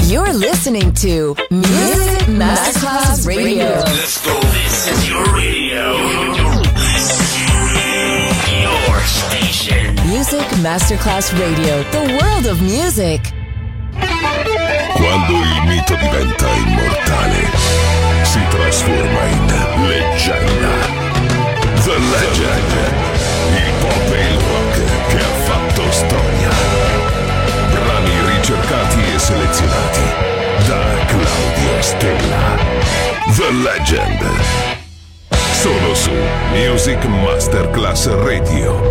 You're listening to Music Masterclass Radio. Let's go. This is your radio. Your station. Music Masterclass Radio. The world of music. Quando il mito diventa immortale, si trasforma in leggenda. The Legend. Il pop e il rock che ha fatto storia. Brani ricercati e selezionati da Claudio Stella. The Legend. Solo su Music Masterclass Radio.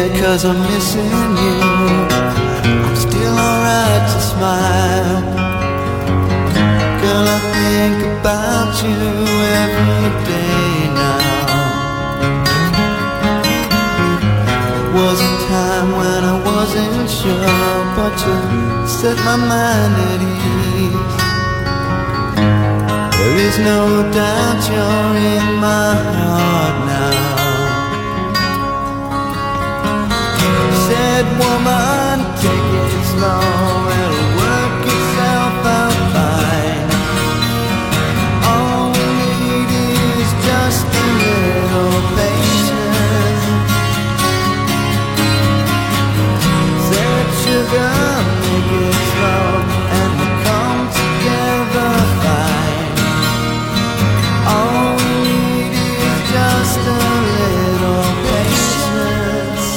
scared 'cause I'm missing you. I'm still alright to smile. Girl, I think about you every day now. Was a time when I wasn't sure, but you set my mind at ease. There is no doubt you're in my heart now. Said woman, take it slow, it'll work itself out fine. All we need is just a little patience. Said sugar, make it slow, and we'll come together fine. All we need is just a little patience.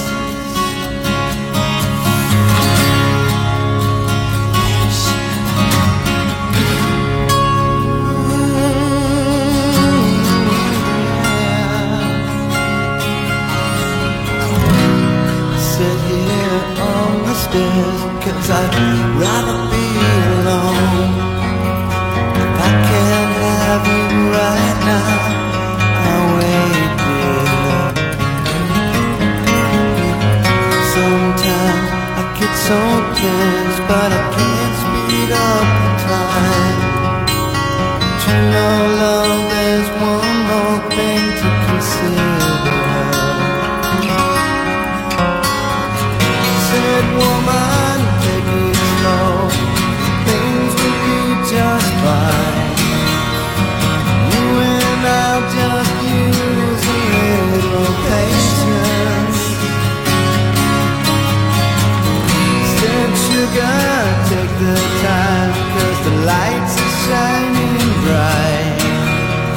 Sit here on the stairs, 'cause I'd rather be alone. If I can't have you right now, I'll wait here. Sometimes I get so tense, but I can't speed up the time. But you know, love, there's one more thing to consider. Said woman, take it slow, things will be just fine. You and I'll just use a little patience. Said sugar, take the time, 'cause the lights are shining bright.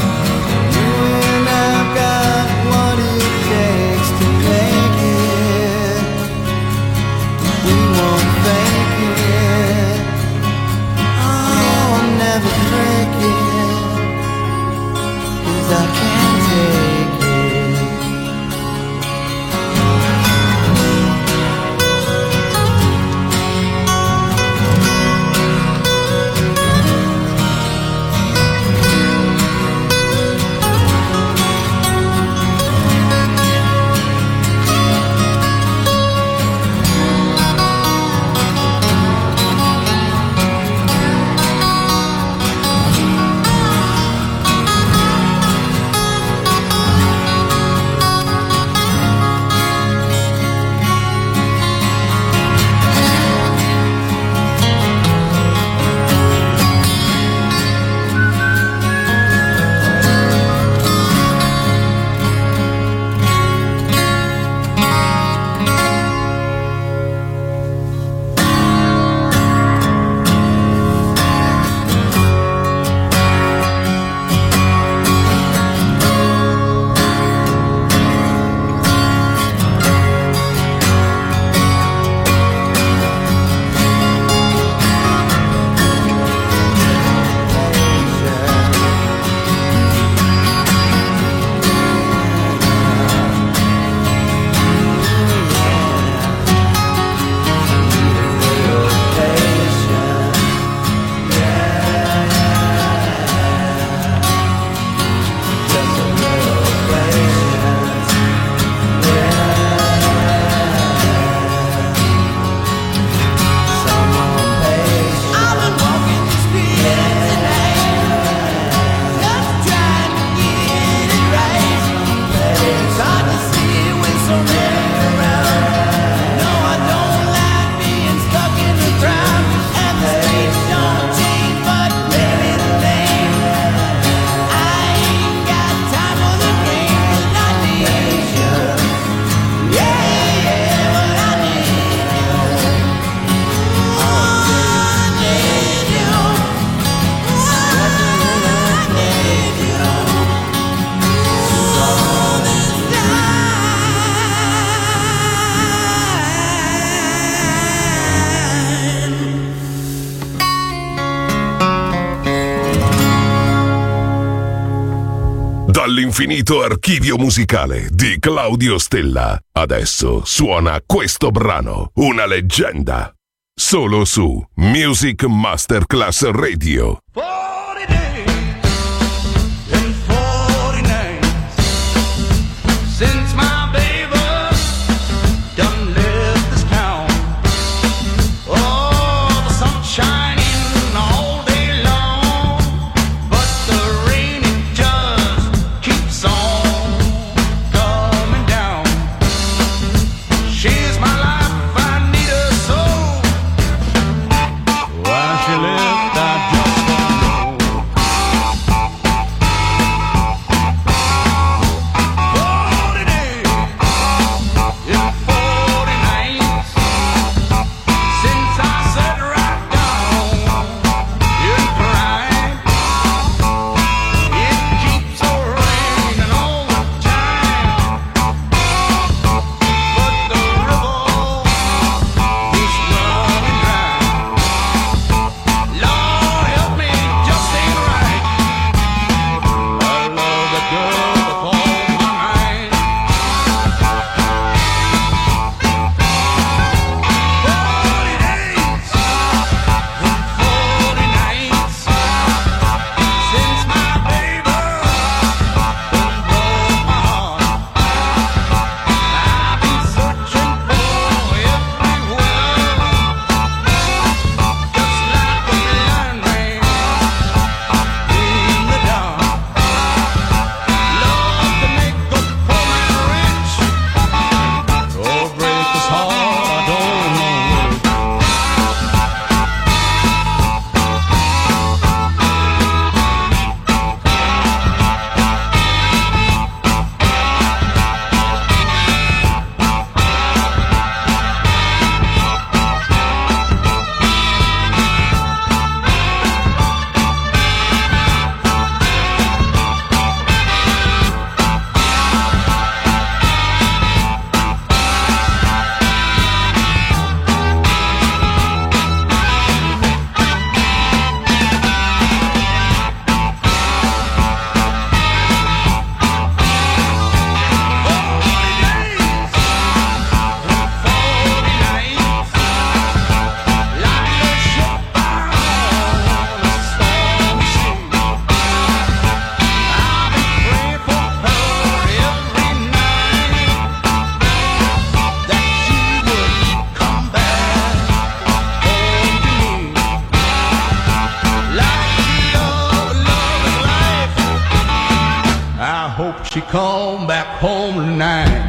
l'infinito archivio musicale di Claudio Stella. Adesso suona questo brano, una leggenda. Solo su Music Masterclass Radio. 40 days and 40 nights since my baby done left this town. Oh, the sun shining all day long, but the rain it just keeps on coming down. She's my life, I need her so. Why she left, I just don't know. 40 days and 40 nights since I sat right down and cried. It keeps raining all the time, but the river is running dry. Lord help me, just ain't right. I love the girl with all my mind. 40 days and 40 nights since my baby done broke my heart. I've been searching for everywhere, just like a blind man in the dark. Love to make a poor man rich or break his heart, I don't know. I hope she come back home tonight.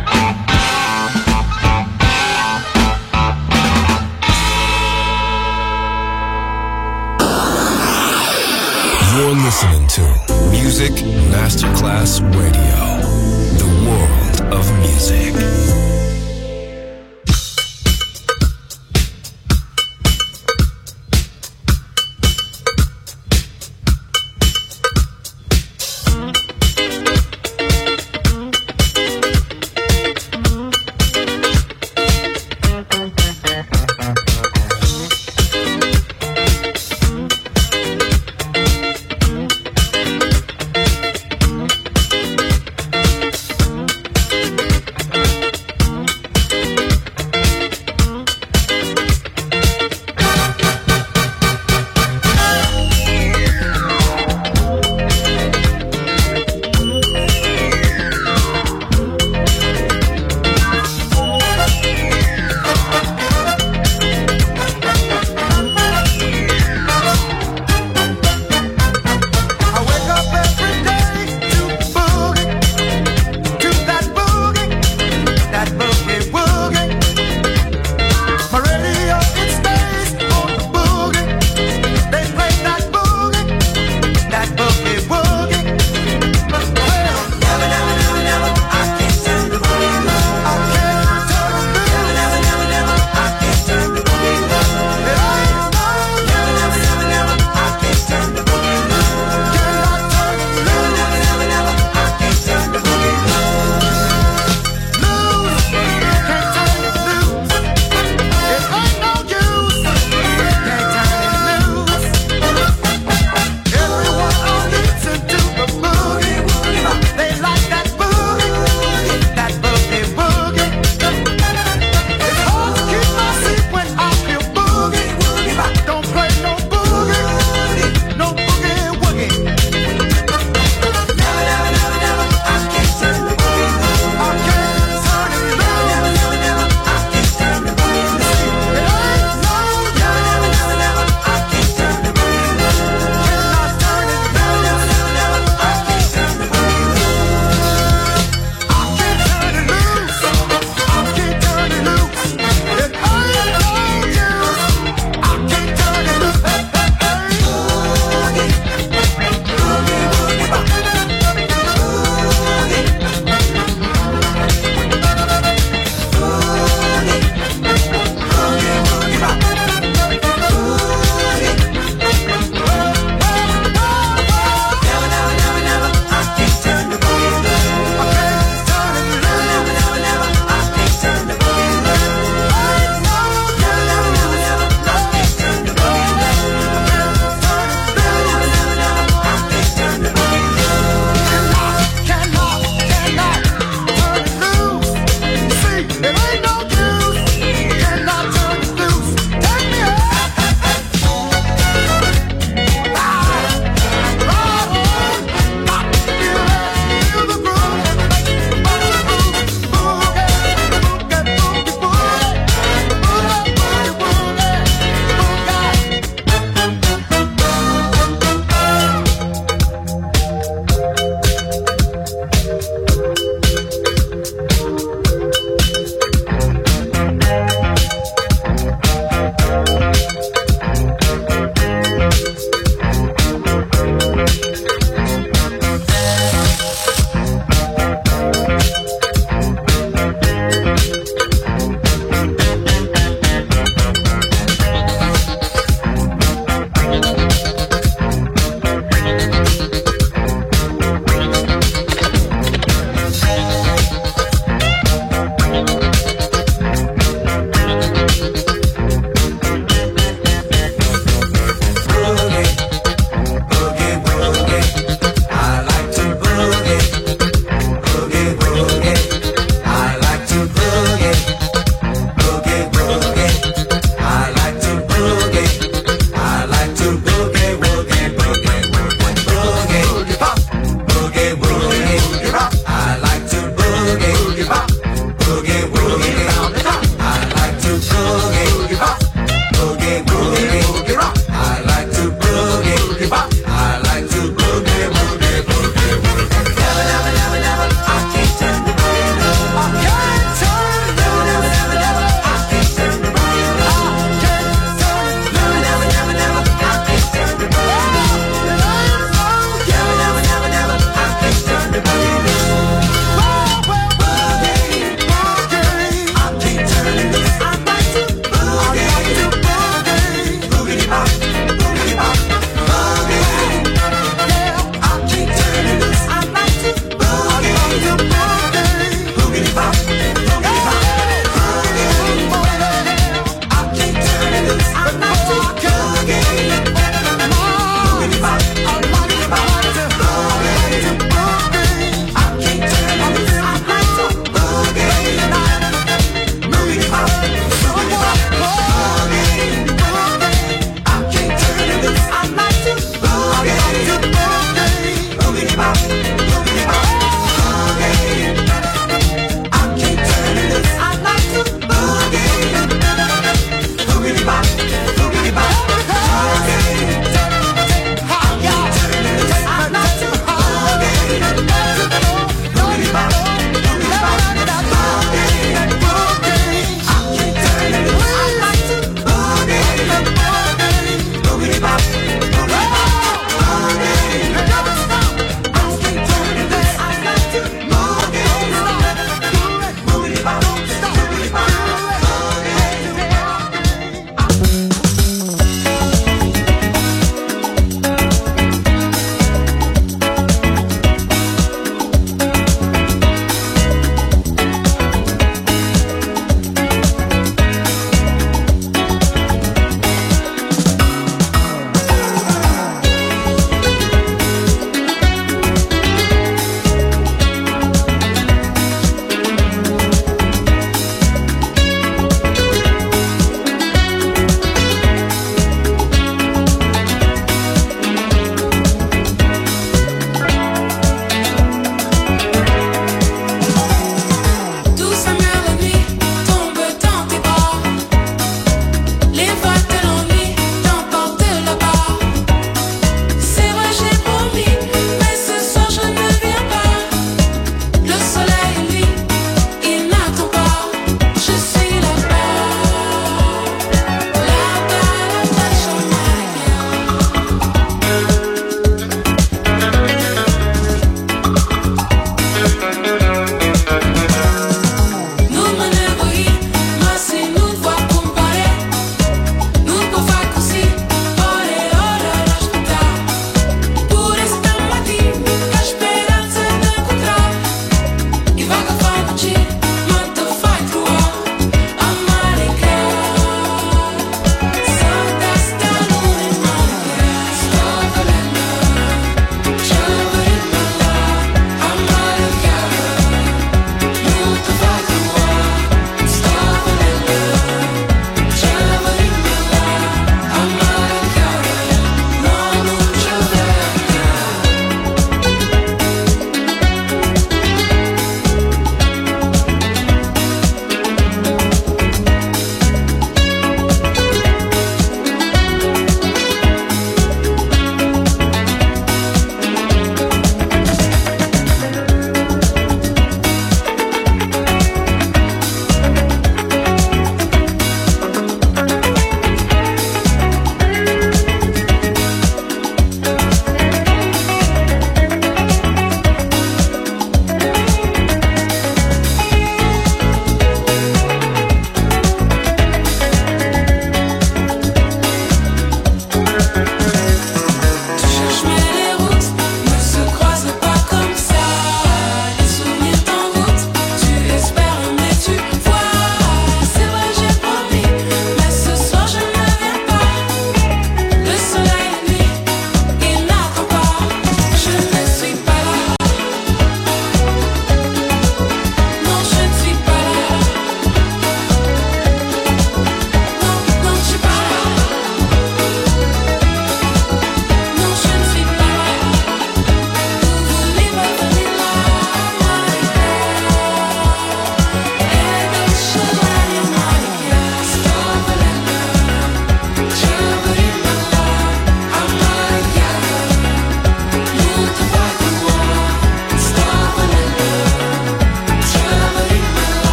You're listening to Music Masterclass Radio, the world of music.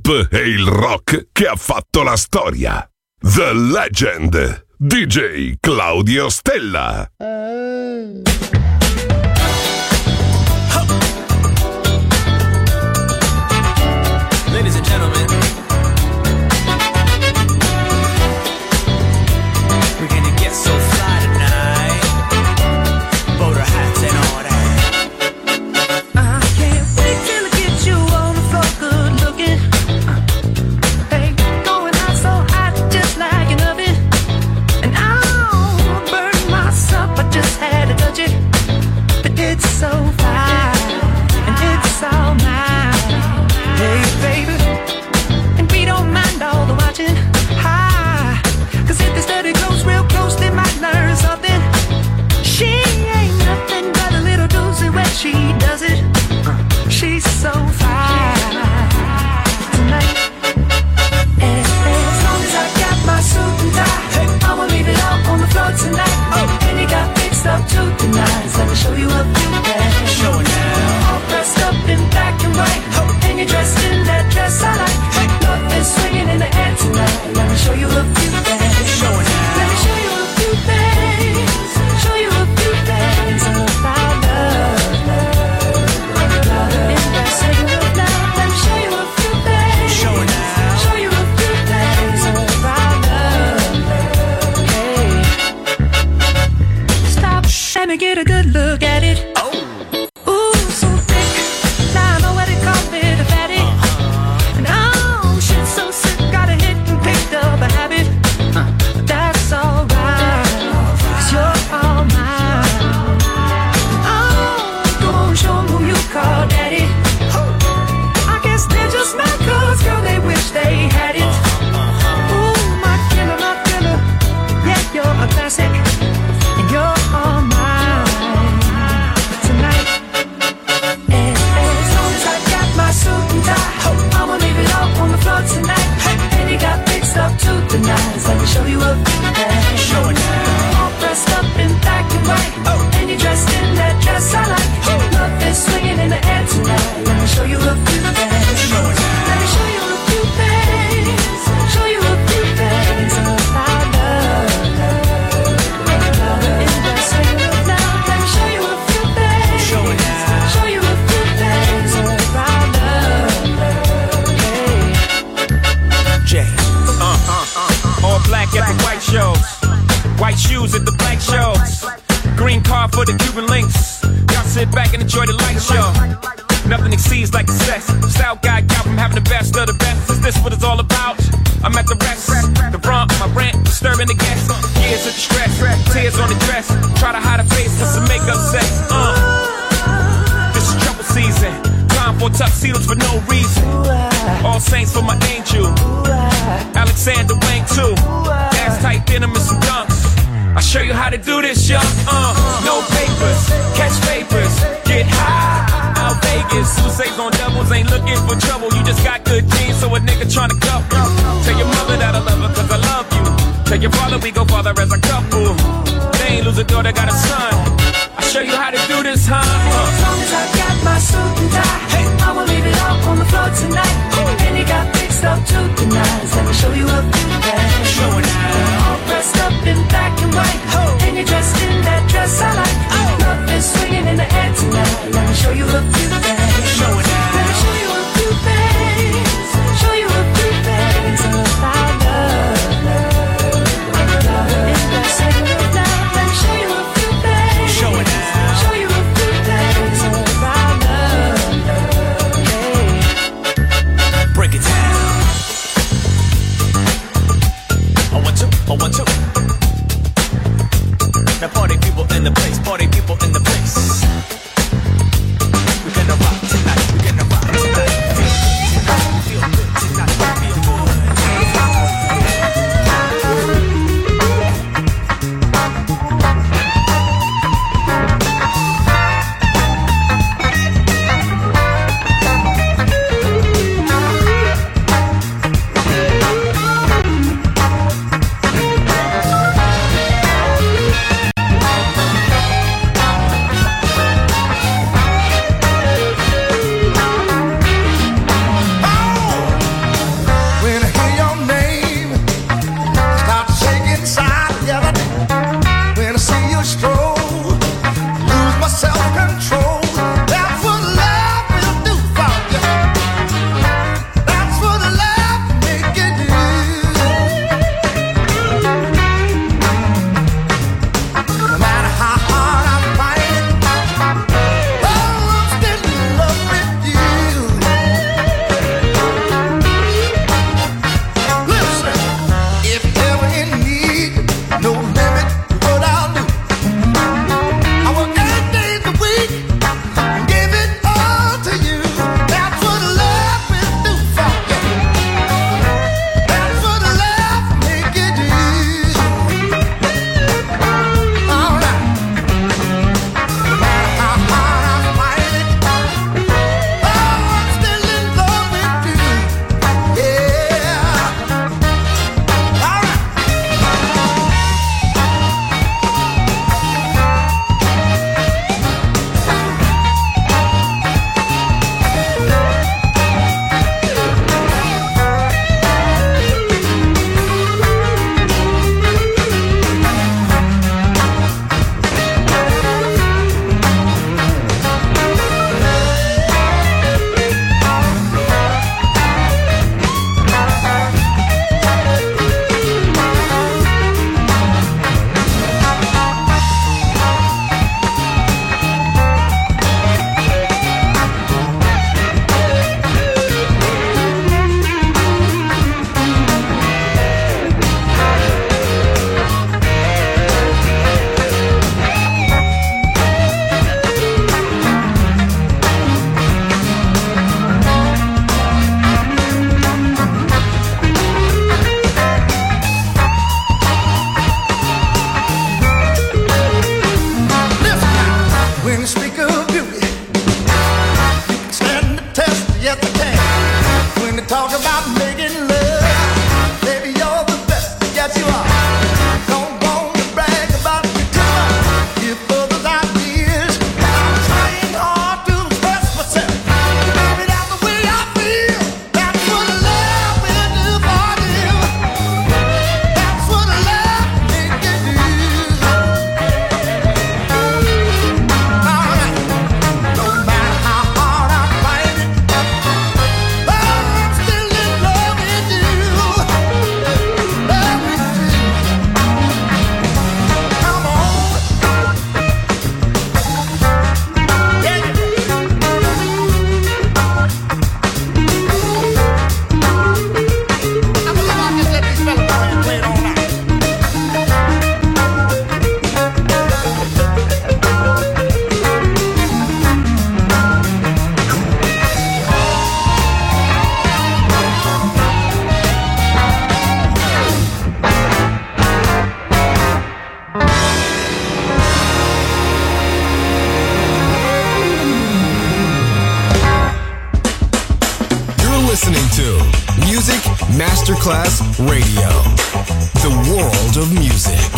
pop e il rock che ha fatto la storia. The Legend, DJ Claudio Stella. Ladies and gentlemen, we're gonna get so fly tonight. Boater hats and all that. I can't wait till I get you on the floor, good looking. Hey, going out so hot, just like an oven. And I'll burn myself, I just had to touch it. But it's so fine, and it's all mine. Hey, baby, and we don't mind all the watching. Hi, cause if they study close, real close, they might learn something. She ain't nothing but a little doozy when she does it. She's so fine tonight. As long as I got my suit and tie, I'ma leave it all on the floor tonight. And you got fixed up to the nines. Let me show you a few things. Show it now. All dressed up in black and white, and you're dressed in that dress I like. Love is swinging in the air tonight. Let me show you a few things. Show it now. Let me show you a few things. Show you a few things about love. In that second of love, let me show you a few things. Show it now. Show you a few things about love. Hey, stop, let me get a good look at it. Ooh, so thick. Now I know what they call it, a fatty. And oh, shit, so sick, got a hit and picked up a habit. That's alright, 'cause you're all mine. Oh, go on, show 'em who you call daddy. I guess they're just my cuz, girl, they wish they had it. Ooh, my killer, yeah, you're a classic. And you're all mine tonight. As long as I got my suit and tie, I'ma leave it all on the floor tonight. And you got fixed up to the nines. Let me show you a few things. Show it now. All dressed up in black and white, and you're dressed in that dress I like. Love is swinging in the air tonight. Let me show you a few things. Show it now. Let me show you a few things. Show you a few things about love. In that second of love, let me show you a few things. Show it now. Show you a few things about love. Hey. Jay. All black at the white shows. White shoes at the black shows. Green car for the Cuban links. Y'all sit back and enjoy the light show. Nothing exceeds like success. Style guy got from having the best of the best. Is this what it's all about? I'm at the rest. The front, my rent, disturbing the guests. Years of distress, tears on the dress. Try to hide a face with some makeup sex. This is trouble season. Time for tuxedos for no reason. All saints for my angel. Alexander Wang too. Ass tight denim and some dunks. I'll show you how to do this, young. No papers, catch papers, get high. Out Vegas, Sousa's on doubles, ain't looking for trouble. You just got good genes, so a nigga tryna cuff you. Tell your mother that I love her, cause I love you. Tell your father we go father as a couple. They ain't lose a daughter, got a son. I'll show you how to do this, huh? As long as I got my suit and tie, I'ma leave it all on the floor tonight. And you got fixed up to the nines. Let me show you a few things. Show it now. All dressed up in black and white, and you're dressed in that dress I like. Love is swinging in the air tonight. Let me show you a few things. Show it now. Let me show you a few things. Show you a few things about love. In that second of love, let me show you a few things. Show it now. Show you a few things about love. Hey. Break it down. I want to. Now party people in the place, party people in the place. We're gonna rock tonight, we're gonna rock tonight. Feel good tonight, feel good. Masterclass Radio. The world of music.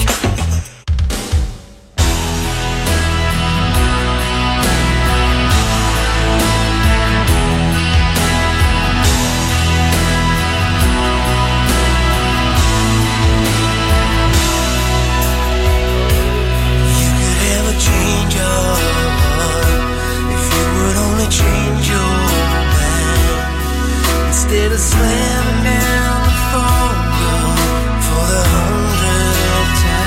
Change your heart if you would only change your mind. Instead of slamming down the phone for the 100th time.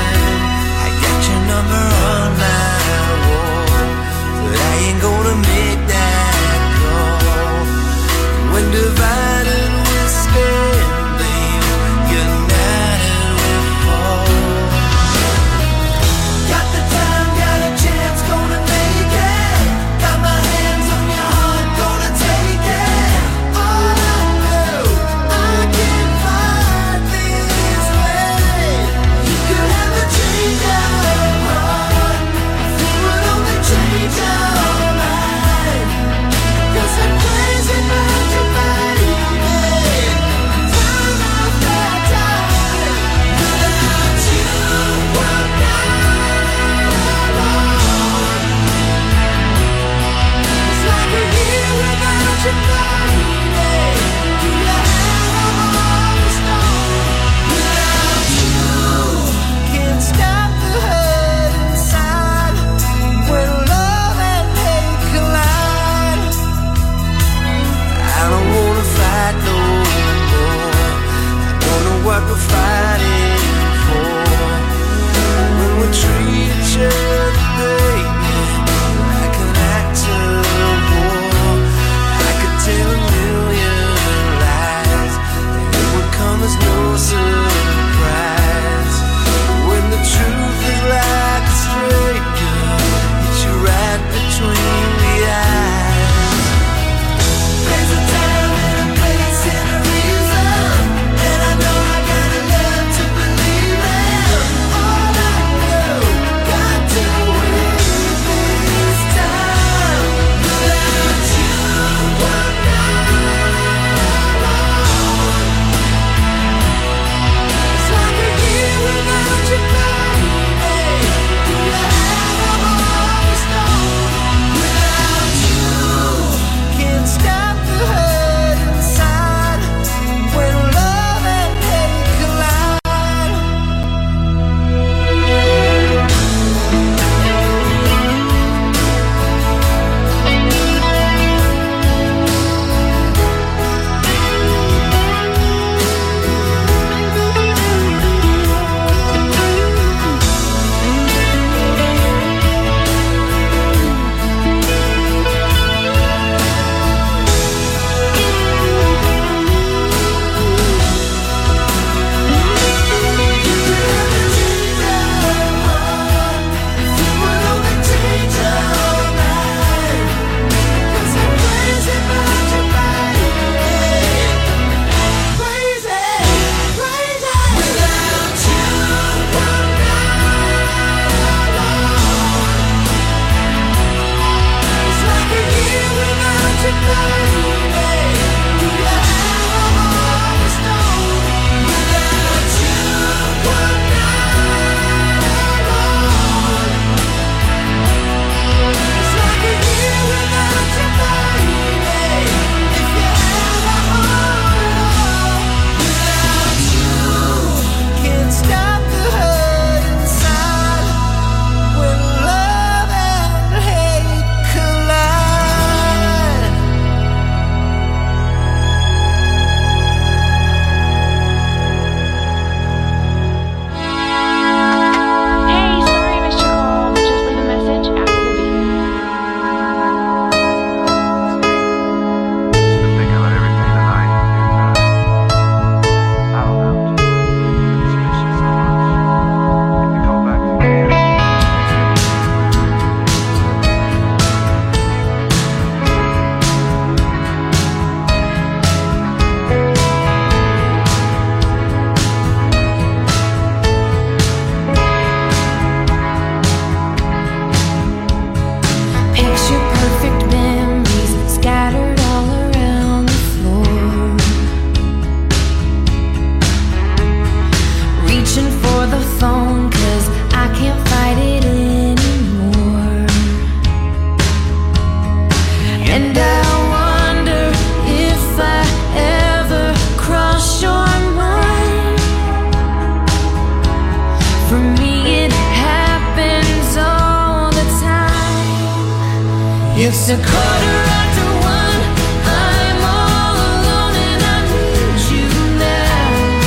It's a quarter after one. I'm all alone and I need you now.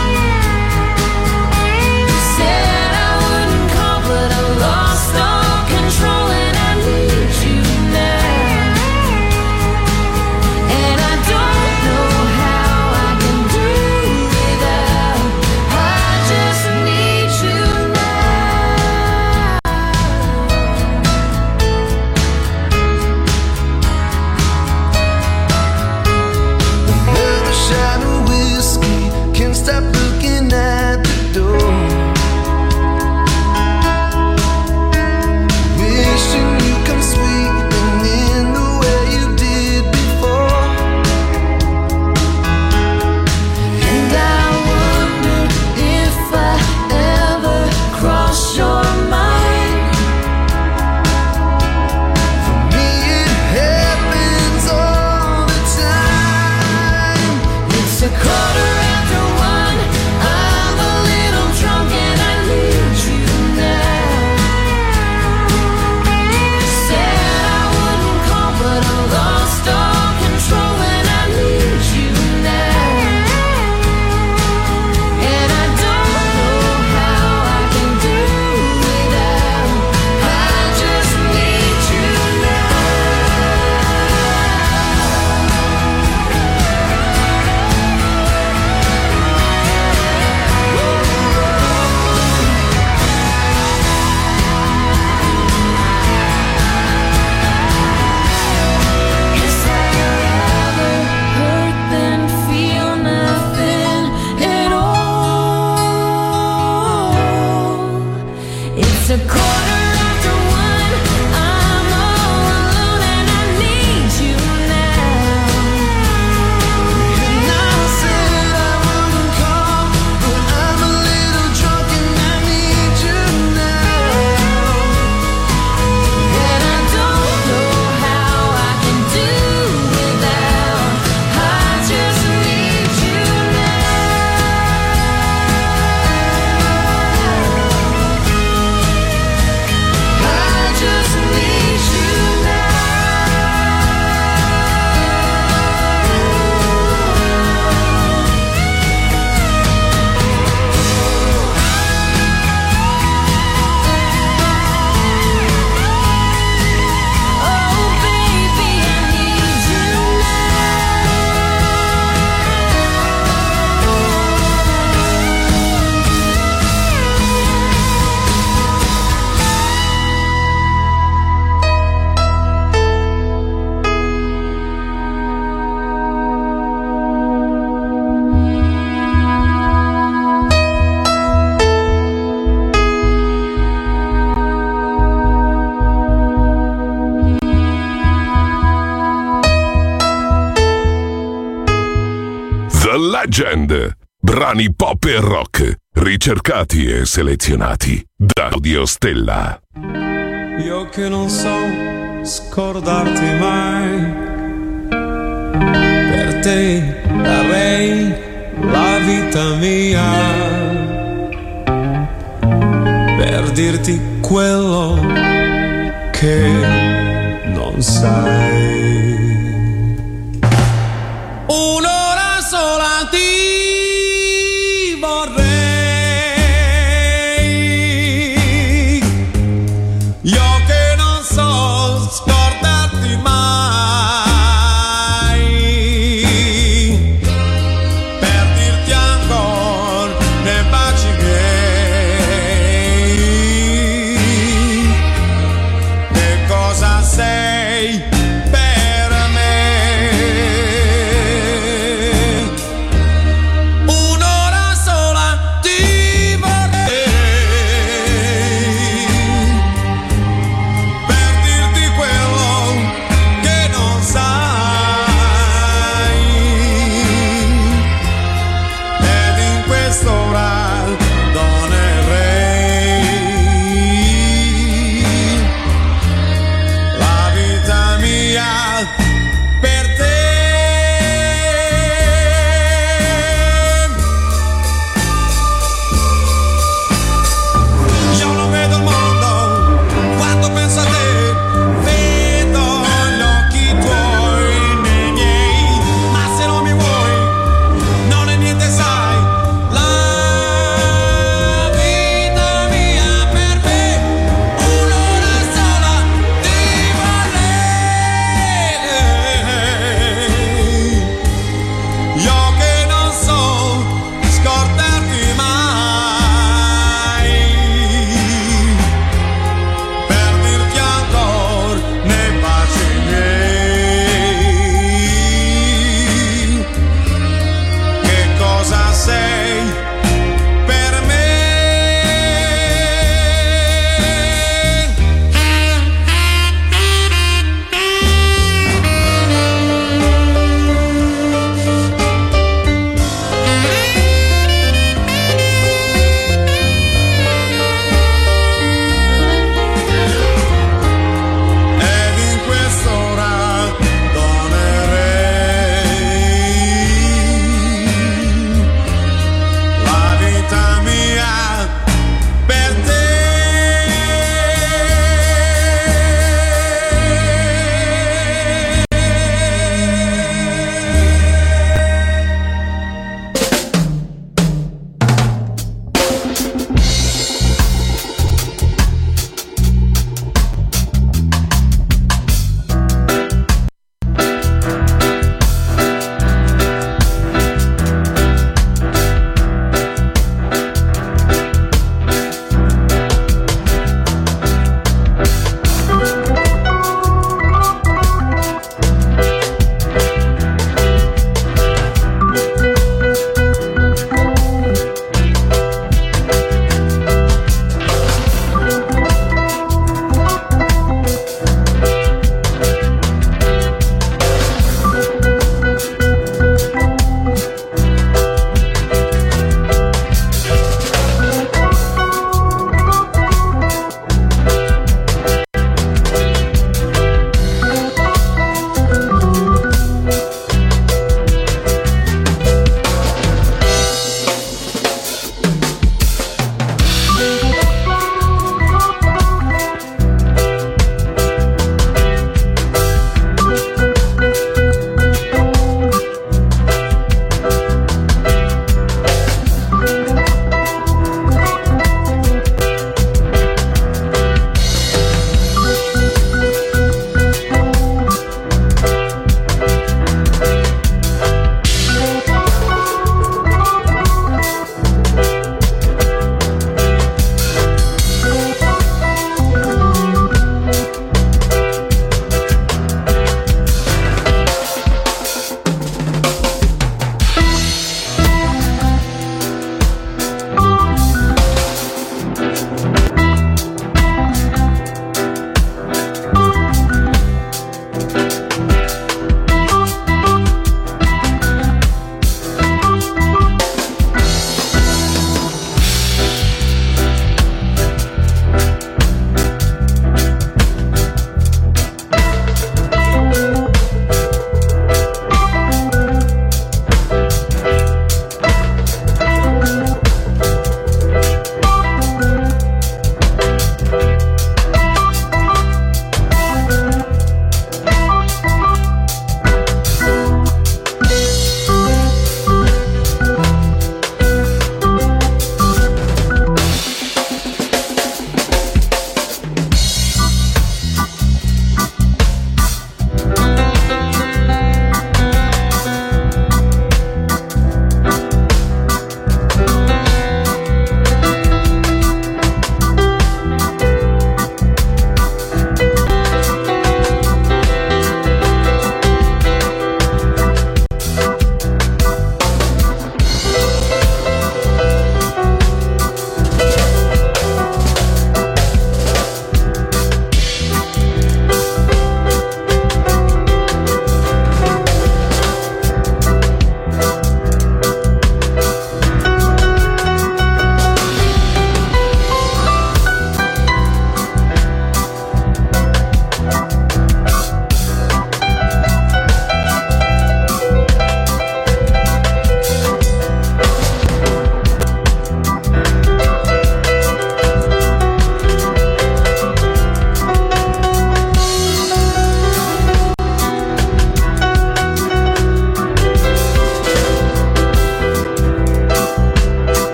You said I wouldn't call, but I lost all control and I need you now. And I don't know how I can do without. I just need you now. Another shot of whiskey, can't stop looking at the door. Wishing you come sweeping in the way you did before. And I wonder if I ever cross your mind. For me it happens all the time. It's a quarter after one. I'm a little drunk and I need you now. Said I wouldn't call, but I lost all control and I need you now. And I don't know how I can do without. I just need you now. Guess I'd rather hurt than feel nothing at all. It's a quarter after one. I'm all alone and I need you now. And I said I wouldn't call, but I'm a little drunk and I need you now. And I don't know how I can do without. I just need you now. I just need you now. Oh baby, I need you The Legend. Brani pop e rock, ricercati e selezionati da Claudio Stella. Io che non so scordarti mai, per te darei la vita mia, per dirti quello che non sai. Un'ora sola ti vorrei, io che non so scordarti mai, per dirti ancora nei baci miei che cosa sei per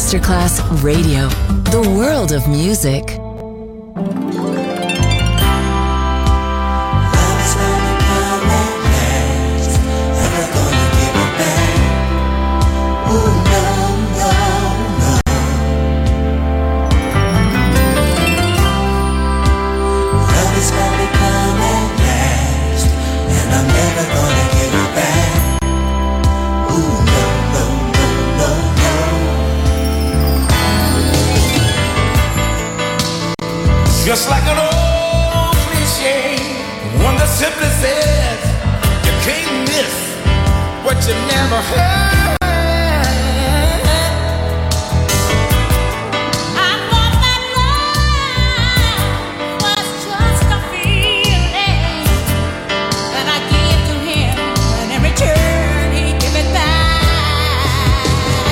Masterclass Radio, the world of music. Just like an old cliche, one that simply says you can't miss what you never heard. I thought that love was just a feeling that I gave to him, and in return he gave it back.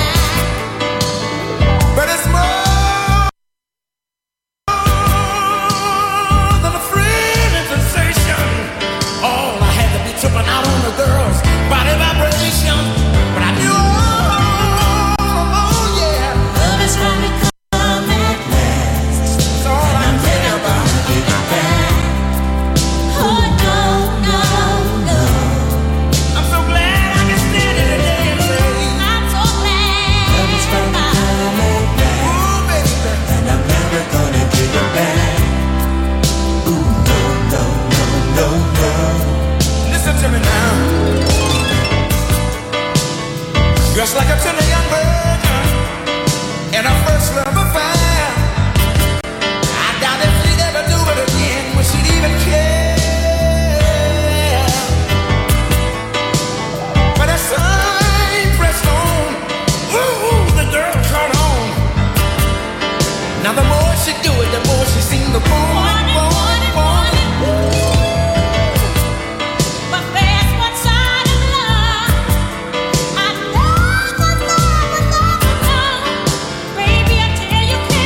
But it's more tripping out on the girls' body vibration. But I knew, oh yeah, Love is gonna come at last. that's all I'm thinking about. Oh no, no, no. I'm so glad I can stand it today and say, I'm so glad. Love is gonna come at last, ooh baby, and I'm never gonna give it back. Ooh, no, no, no, no, no. listen to me now. Just like a tender young virgin in her first love affair, I doubt if she'd ever do it again, would she'd even care. But as time pressed on, ooh, the girl caught on. Now the more she do it, the more she seemed to want it. But there's one side of love I never, never, never know. Baby, I tell you,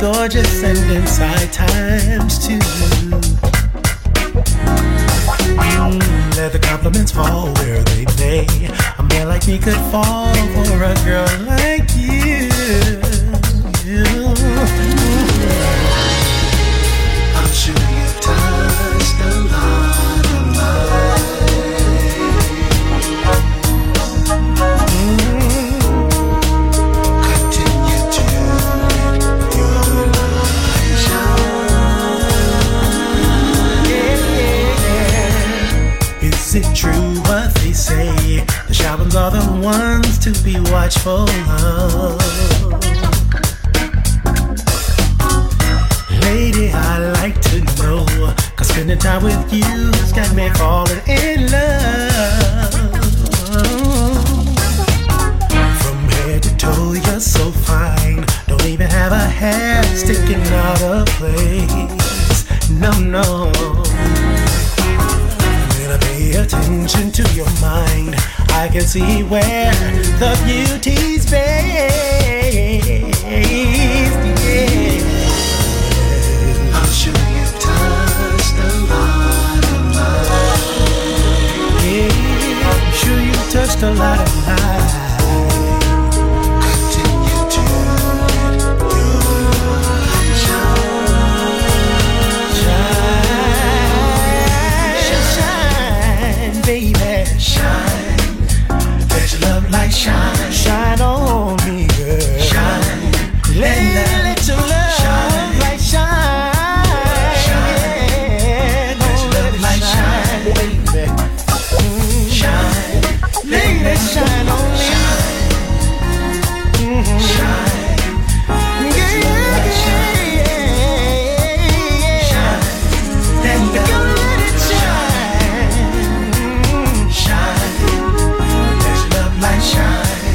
gorgeous and inside times too. Let the compliments fall where they may. A man like me could fall for a girl like you. I'm sure you've touched a lot of life. Continue to let your light shine. Yeah. Is it true what they say? The shy ones are the ones to be watchful of. Lady, I like to know, 'cause spending time with you's got me falling in love. From head to toe, you're so fine. Don't even have a hair sticking out of place. No, no. When I pay attention to your mind, I can see where the beauty's based. Yeah. I'm sure you've touched a lot of life. Yeah, I'm sure you've touched a lot of life. Continue to let your light shine. Shine, baby. Shine. Let your love light shine. Shine on me, girl. Shine. Let your love shine. Light shine. Shine. Let your love light shine, baby. Shine. Let it shine on me. Shine. Yeah, yeah, yeah. Shine. Let it shine. Shine. Let your love light shine.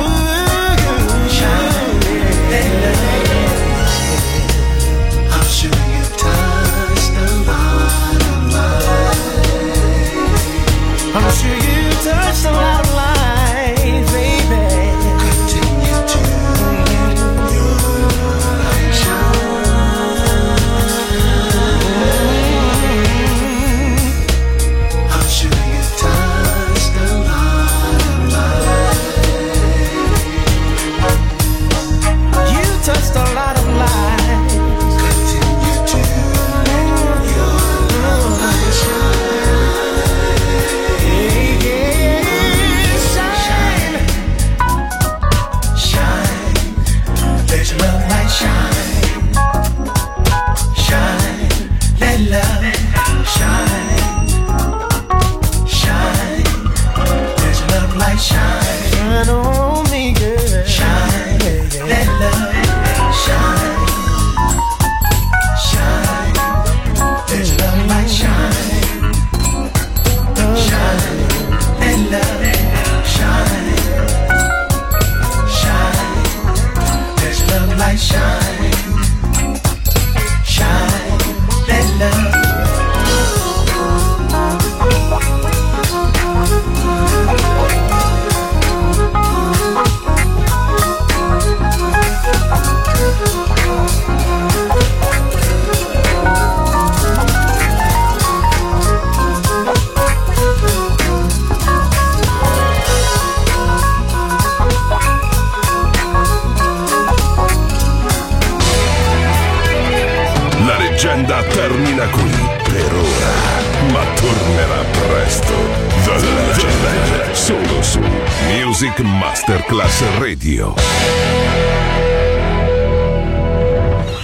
Shine. Let it. I'm sure you've touched a lot of life. I'm sure you've touched a lot of life, baby. Continue to let your light shine. I'm sure you've touched a lot of life. You touched a lot of lives. Continue to let your light shine. Yeah, shine. Shine. Let your love light shine. Shine. Let love shine. Shine. Let your love light shine. Shine on me, girl. Shine. Let love shine. Shine. Let your love light shine. Shine. Let love shine. Shine. Let your love light shine. Shine. Let love. La leggenda termina qui per ora, ma tornerà presto. The Legend, solo su Music Masterclass Radio.